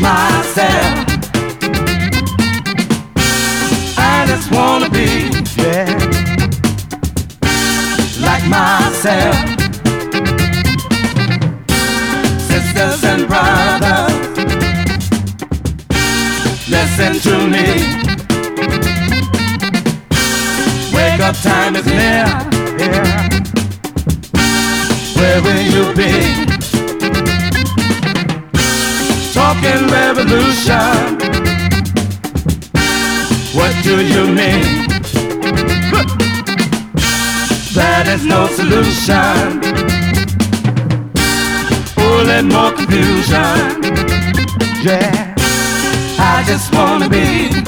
myself. I just wanna be, yeah, like myself. Sisters and brothers, listen to me. Wake up time is near, yeah. Where will you be? Talking revolution, what do you mean? That is no solution, only more confusion. Yeah, I just wanna be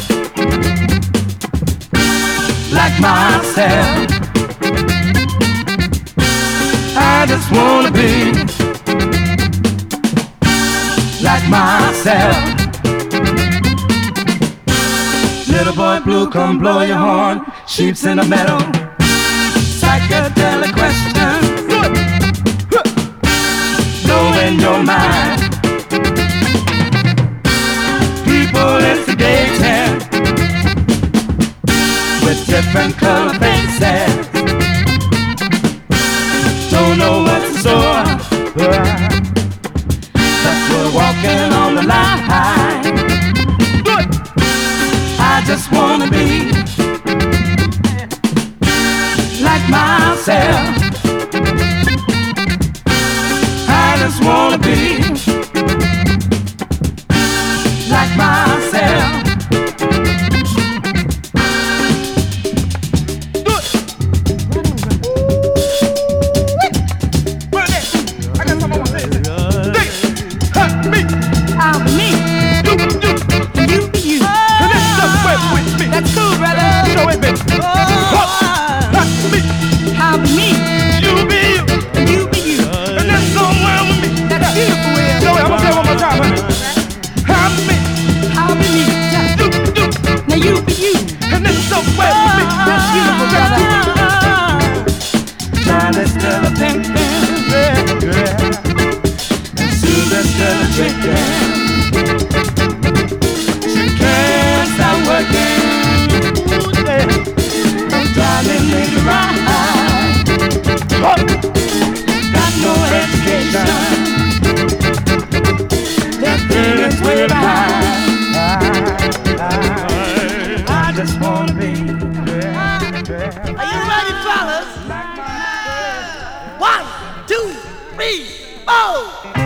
like myself. I just wanna be like myself. Little boy blue, come blow your horn. Sheep's in the meadow. Psychedelic question. Know in your mind. People instigating with different color faces. Don't know what's in store. But we're walking on the line. I just wanna be like myself. I just wanna be like myself. That's cool, brother. You know it, baby. I'll be me. You be you. And you be you. And that's somewhere with me. That's beautiful, Will. Joey, I'm gonna say it one more time, honey. I'm me. I'll be me. Now you be you. And that's somewhere with me. That's beautiful, brother. Charlie's still a thinking, yeah. And Susan's still a drinking. She can't stop working. Darling, make it right. Got no education. That feeling's way behind. I just wanna be. Are you ready, fellas? 1, 2, 3, 4.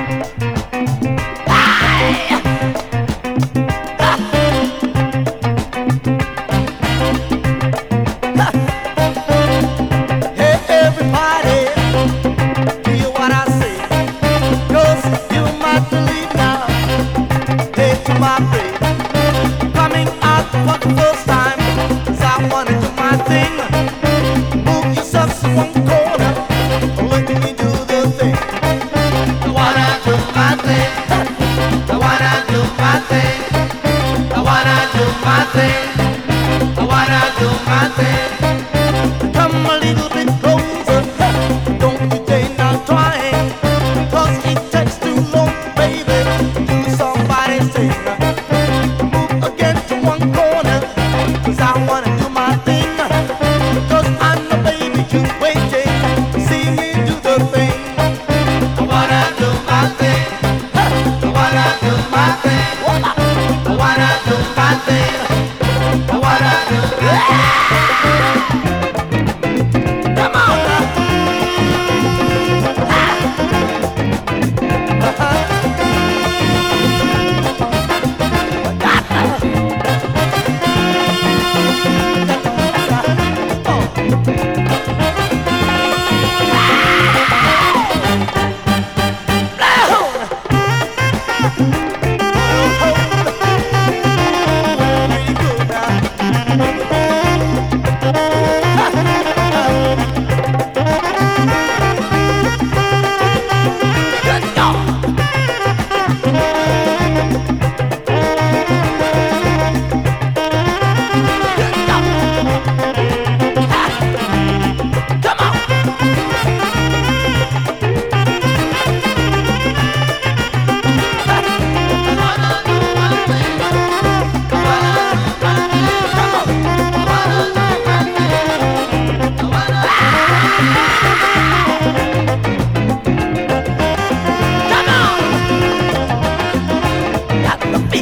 Come a little bit closer, don't you dare not trying, 'cause it takes too long, baby, to somebody sing. Move against one corner, 'cause I wanna do my thing, 'cause I know, baby, you waiting to see me do the thing. I wanna do my thing, I wanna do my thing, I wanna do my thing.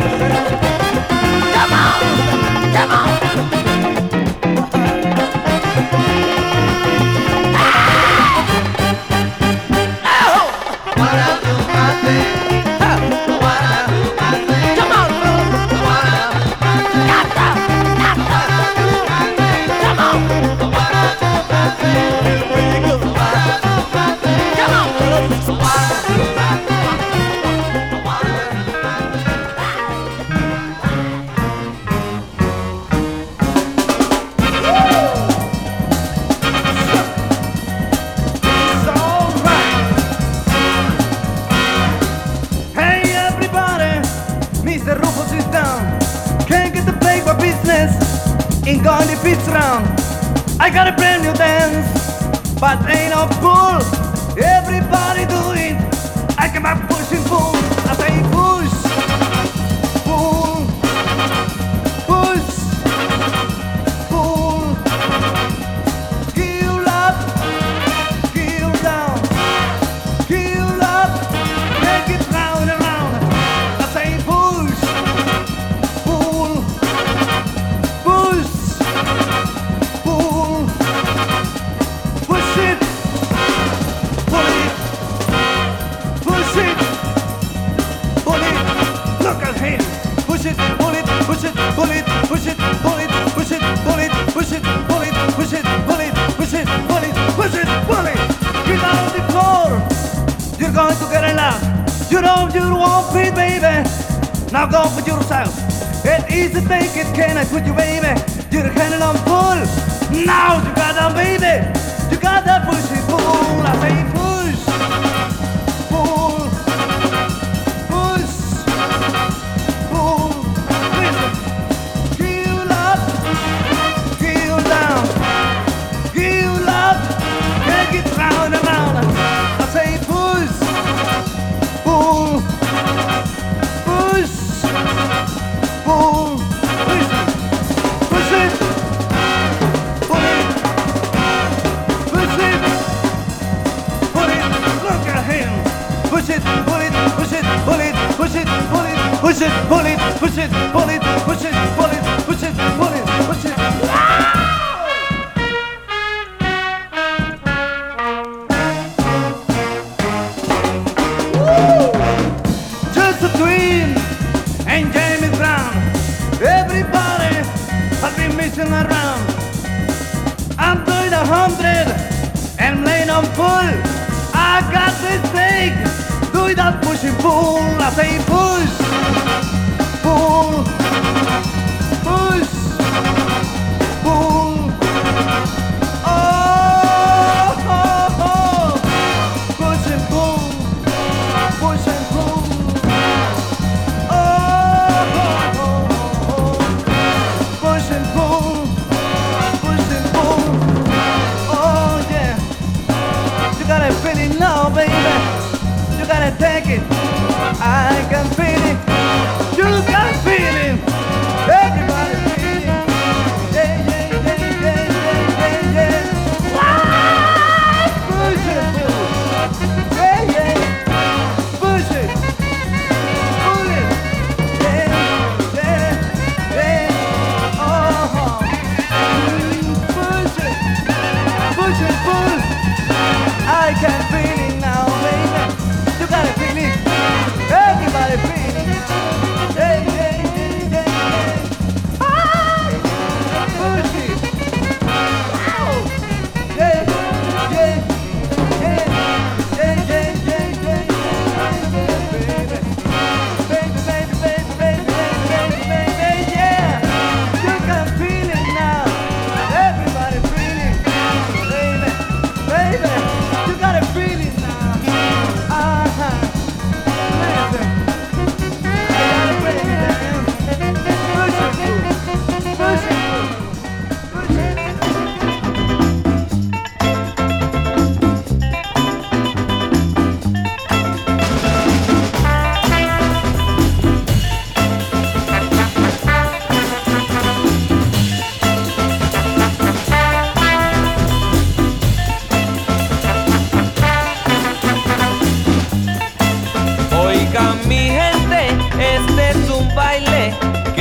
Ain't gonna defeat round. I got a brand new dance, but ain't no pull. Everybody do it. I come back pushing pull. I say push, pull, push, pull. Give up, give down, give up. Make it round and round. I say push, pull, push. You're going to get a laugh. You know you won't be, baby. Now go for yourself. It easy take it, can I put you, baby? You're handling on pull. Now you got them, baby. You got that push it, pull. I say push, pull, push, pull. Listen. Give up, give down, give up. Take it round and round. I say push, pull, push, pull. Listen. Push it, pull it, push it, pull it. Look at him. Push it, pull it, push it, pull it, push it, pull it, push it, pull it, push it, pull it, push it, pull it, push it, pull it, push it. Just a dream and James Brown. Everybody has been missing around. I'm doing 100 and laying on pull. I got this thing, doing that push and pull. I say push, pull, push, pull. Oh, oh, oh. Push and pull, push and pull. Oh, oh, oh, oh. Push and pull, push and pull. Oh yeah, you gotta feel it now, baby. You gotta take it. I can feel it.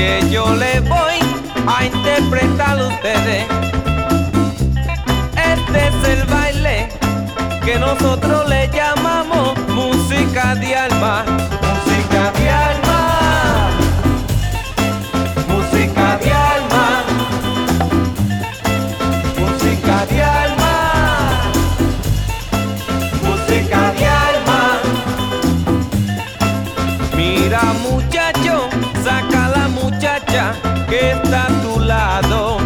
que yo le voy a interpretar a ustedes. Este es el baile que nosotros le llamamos música de alma. Música de alma. Música de alma. Música de alma. Música de alma. Mira muchacho, saca a la muchacha que está a tu lado.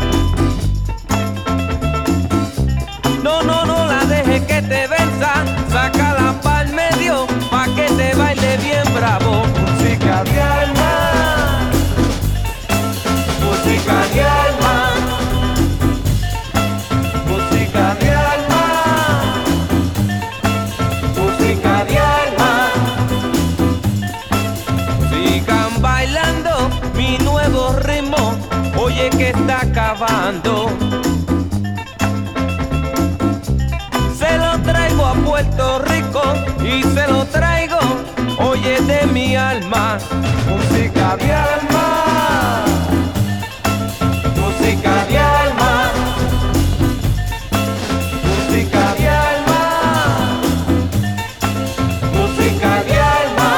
No la dejes que te venza, sácala pa'l medio pa' que te baile bien bravo. Música de alma. Música de alma. Música de alma. Música de alma. Sigan bailando mi nuevo ritmo, oye que está acabando. Se lo traigo a Puerto Rico y se lo traigo, oye, de mi alma. Música de alma. Música de alma. Música de alma. Música de alma.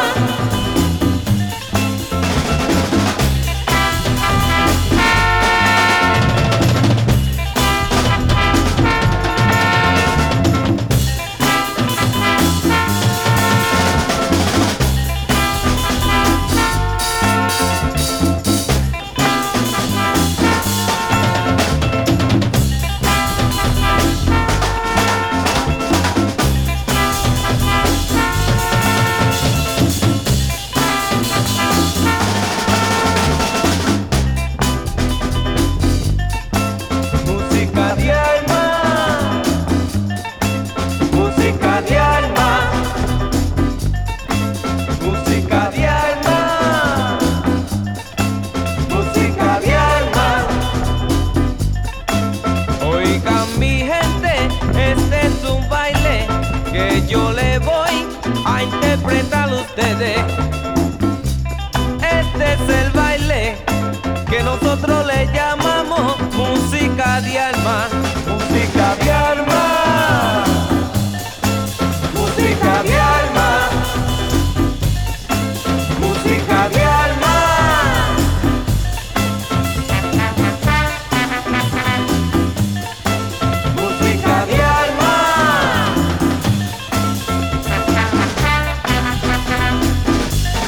Música de alma. Música de alma. Música de alma. Música de alma. Oigan mi gente, este es un baile que yo le voy a interpretar a ustedes. Este es el baile que nosotros le llamamos música de alma. Música de alma. Música de alma. Música de alma. Música de alma.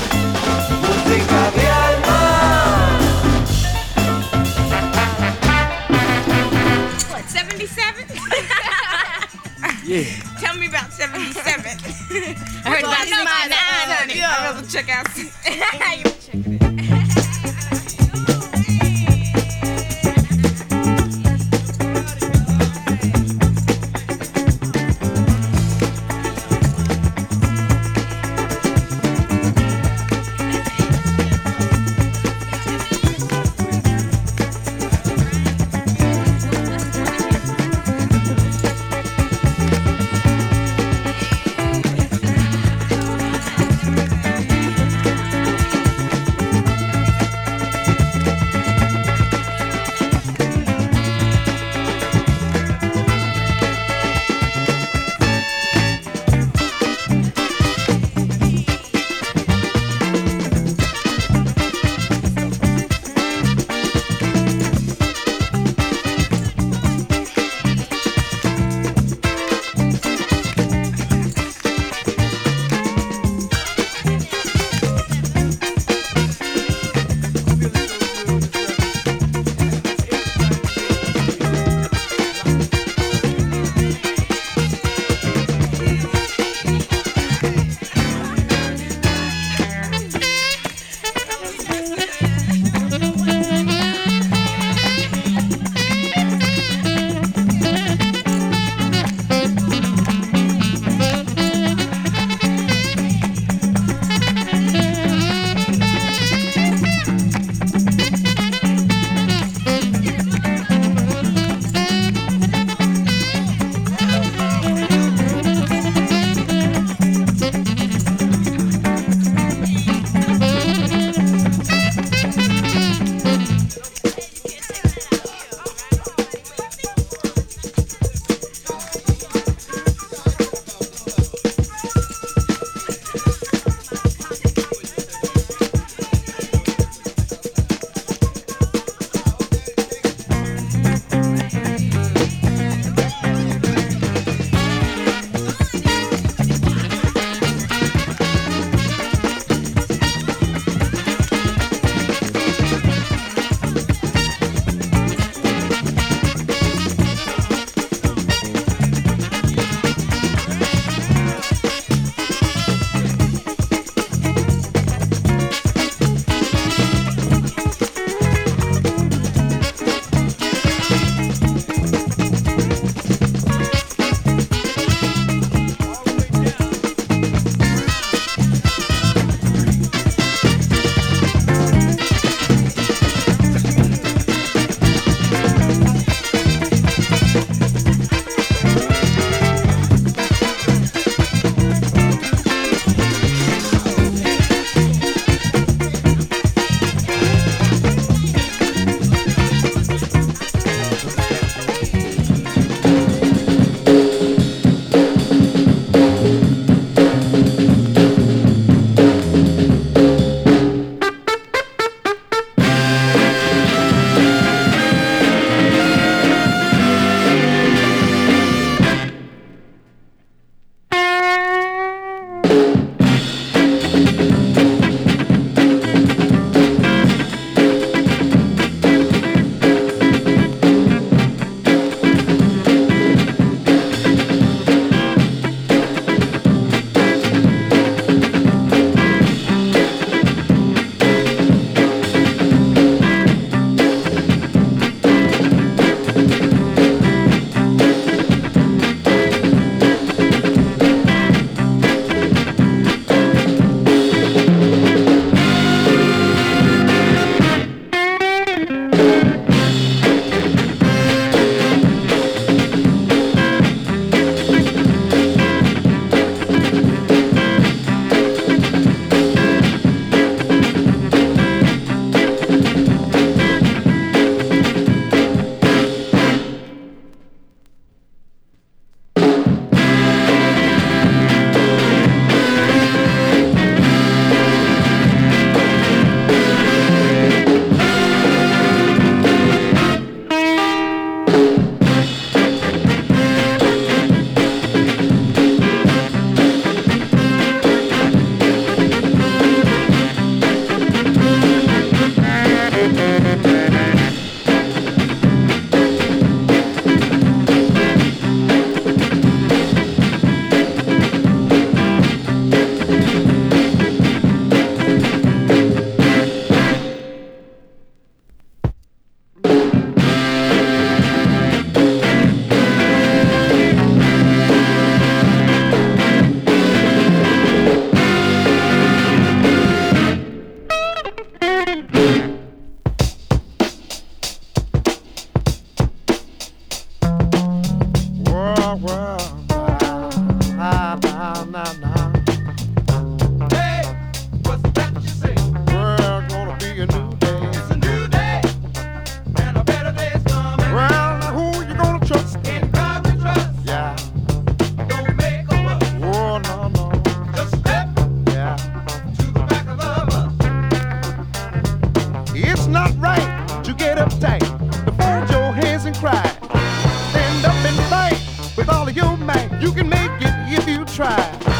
not right to get uptight, to fold your hands and cry. Stand up and fight with all of your might. You can make it if you try.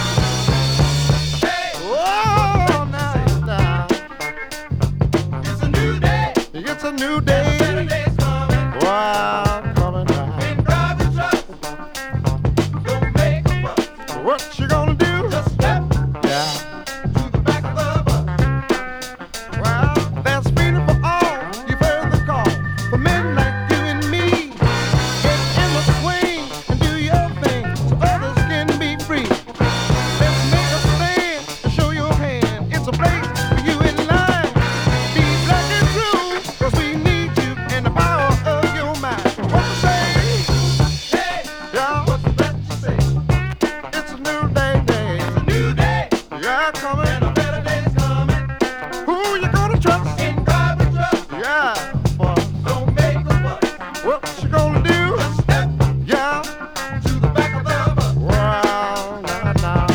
Hey, oh, now. It's a new day. It's a new day. Better days coming. Wow, coming now. Ain't driving truck. Don't make a fuss. What you gonna do? Just step. Yeah. To the back of the bus. Well, there's freedom for all. You've heard the call. For men like you and me. Get in the swing and do your thing so others can be free. Let's make a stand and show your hand. It's a place for you in line. Be black and true, 'cause we need you and the power of your mind. What you say? Hey, yeah, what's that you say? It's a new day, day. It's a new day. Yeah, coming. And a better day's coming. Who you gonna trust? In driving truck. Yeah, boy. Don't make a fuss. What you gonna do? Just step. Yeah. To the back of the bus. Well, now.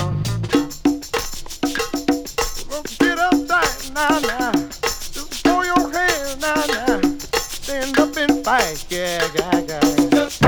Well, get up tight, now. Just throw your hands, now. Stand up and fight, yeah. Just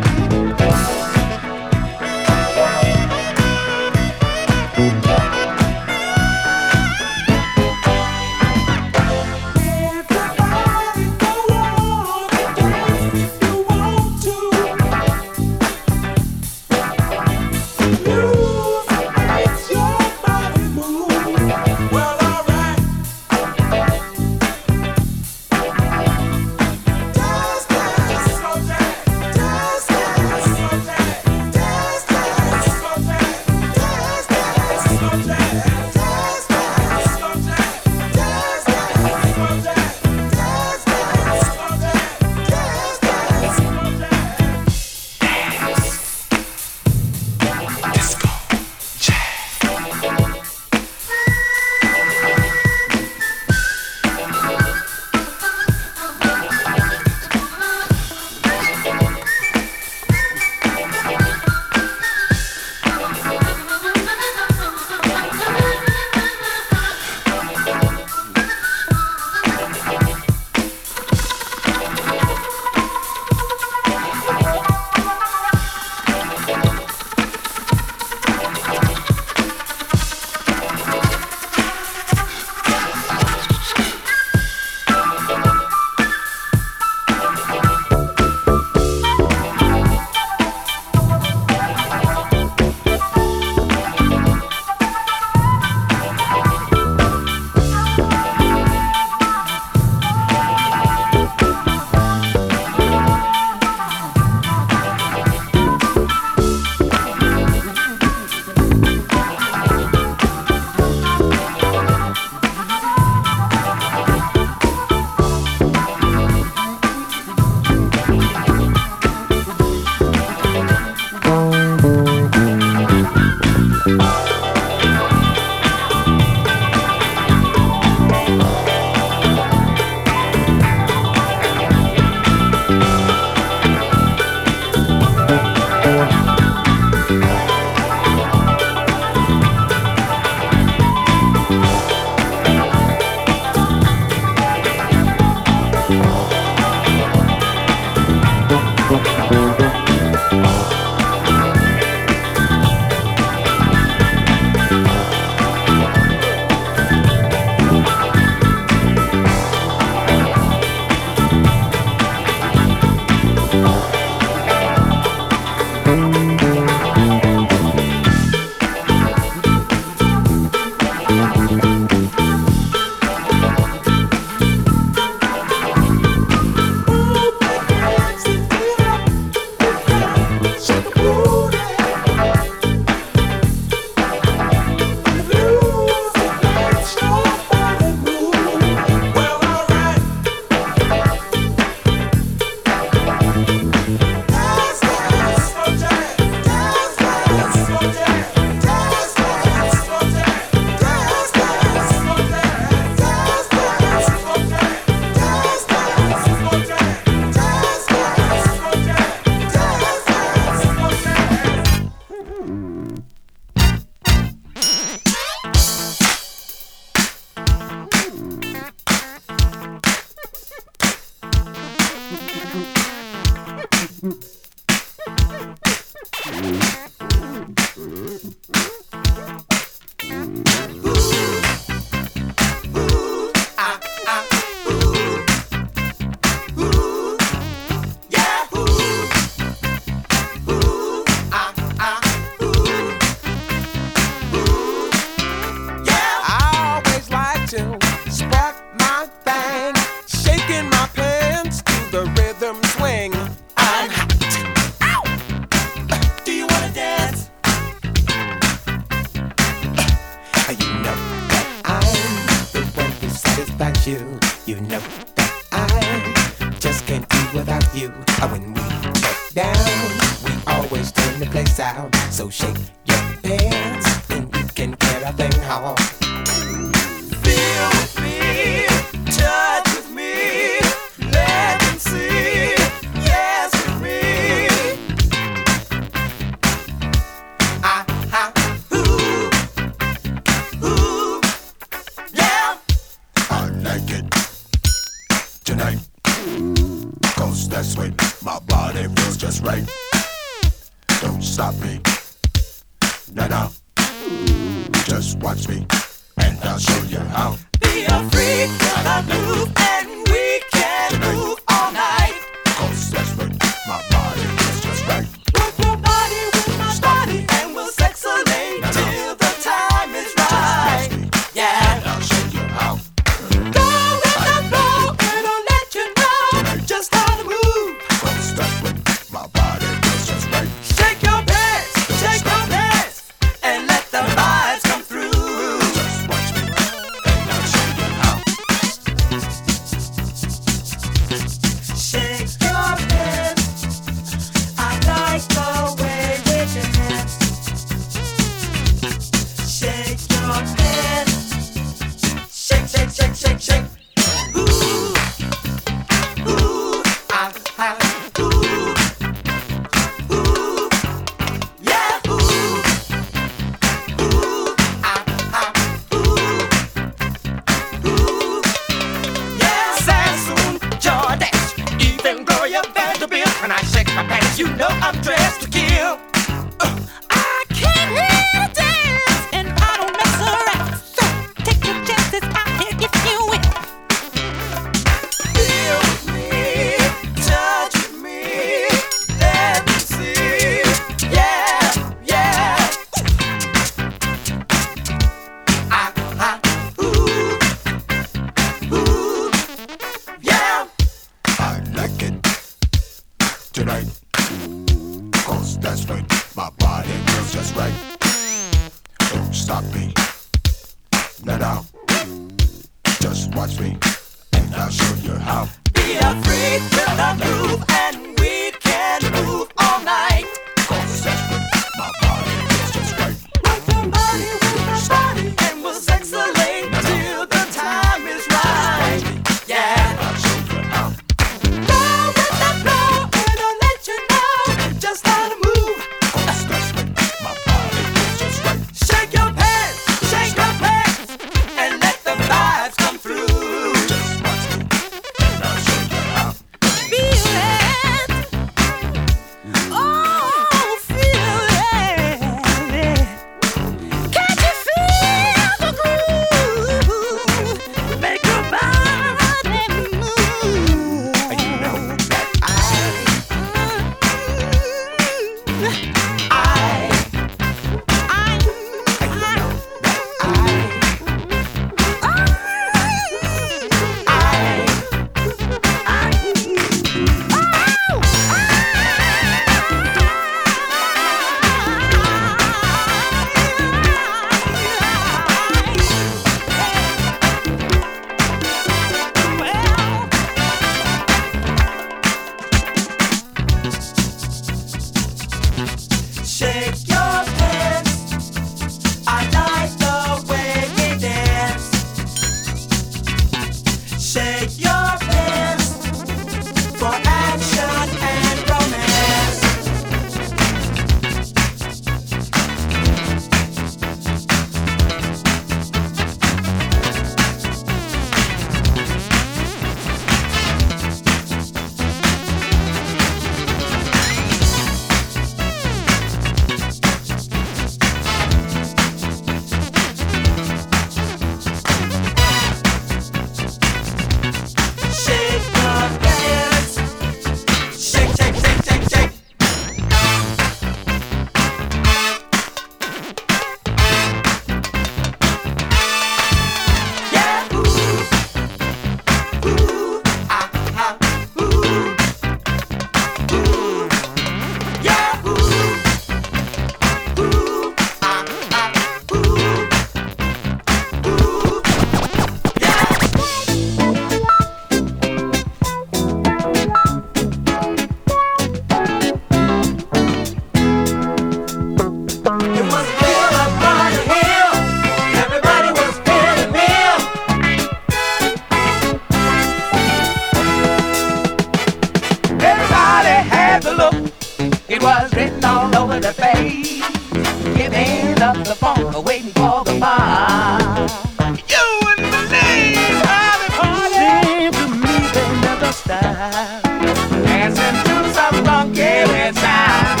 was written all over the face. Giving up the phone, waiting for the bar. You wouldn't believe how the party seemed to me they never stop. Dancing to some funky sound.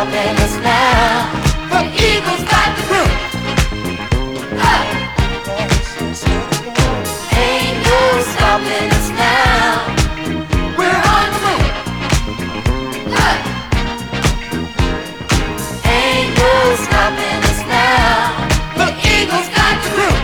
stopping us now. The Eagles got the groove. Ain't no stopping us now. We're on the move. Ain't no stopping us now. The Eagles got the groove.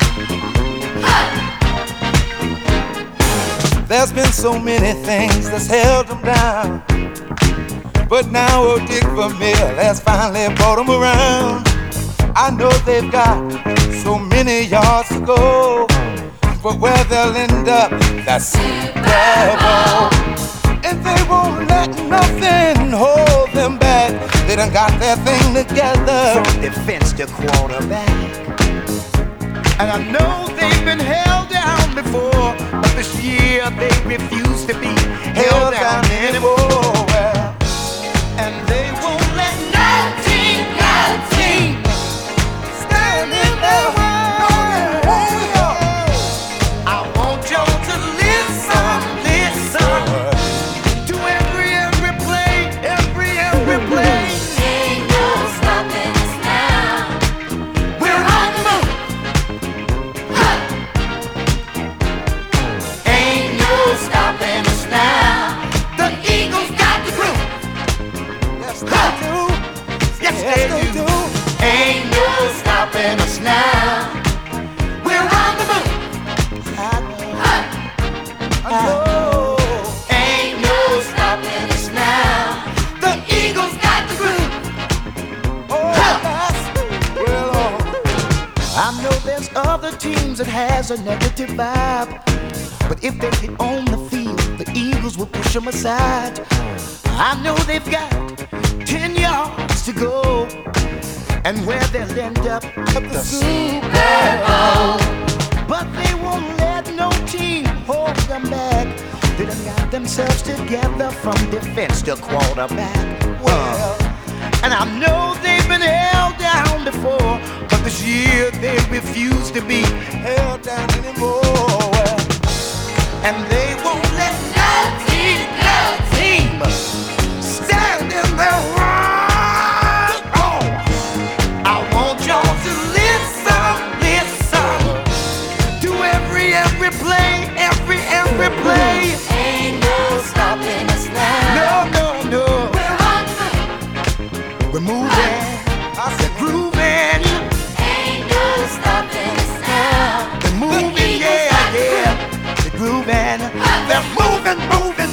There's been so many things that's held them down, but now old Dick Vermeil has finally brought them around. I know they've got so many yards to go, but where they'll end up, that's Super Bowl. And they won't let nothing hold them back. They done got their thing together, from defense to quarterback. And I know they've been held down before, but this year they refuse to be held down anymore. And they won't let no team stand in their way. I want y'all to listen to every play, every play. Ain't no stopping us now. We're on the move. Ain't no stopping us now. The Eagles got the groove. Yes, they do. Yes, they do. Ain't no stopping us now. We're on the move. Ain't no stopping us now. The Eagles got the groove. I know there's other teams that has a negative vibe, but if they get on the field, the Eagles will push them aside. I know they've got 10 yards to go, and where they'll end up at the Super Bowl. But they won't let no team hold them back. They done got themselves together from defense to quarterback. Well, and I know they've been held down before, but this year they refuse to be held down anymore. And they won't let no team stand in their way. Oh, I want y'all to listen to every play, every play. Ain't no stopping us now. No. We're moving, we're grooving. Ain't no stopping us now. They're moving, yeah. They're grooving. They're moving, grooving.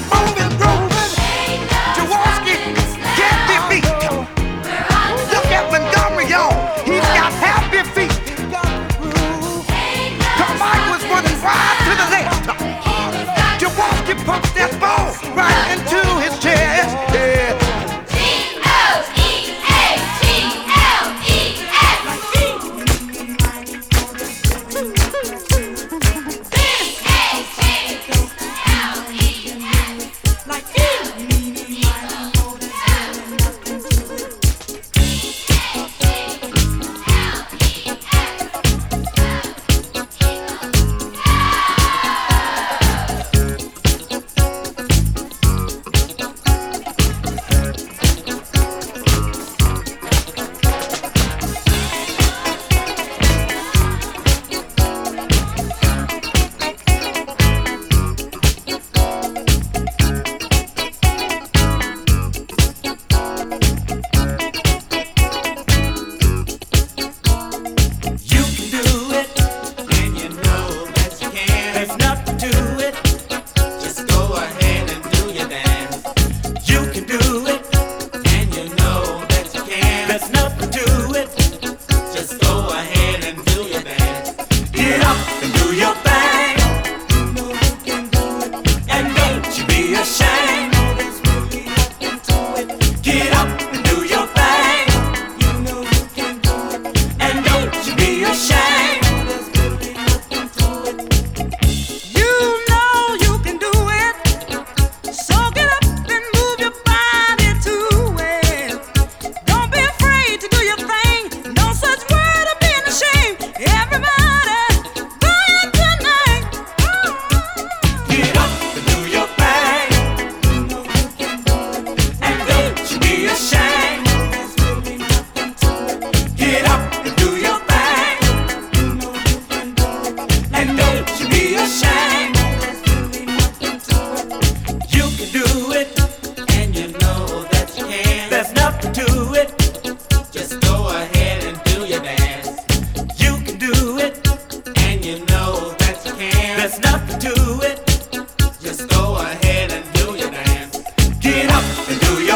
Jaworski can't be beat. Look at Montgomery, y'all. He's got happy feet. Carmichael's running wide to the left. Jaworski pumps that ball right into his chest. Yeah. Be a shame. into your